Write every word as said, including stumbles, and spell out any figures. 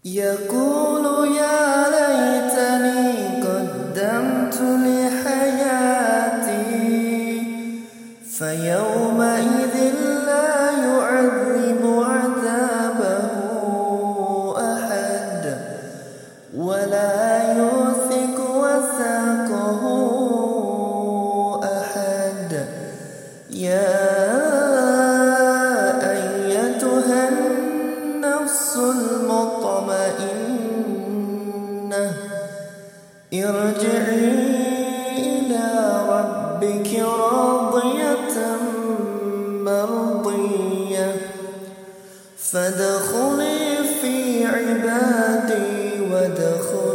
يقول يا ليتني قدمت لحياتي فيومئذ لا يعذب عذابه أحد ولا يوثق وثاقه أحد. يا أيتها النفس المطمئنة ارجعي إلى ربك راضية مرضية فادخلي في عبادي وادخلي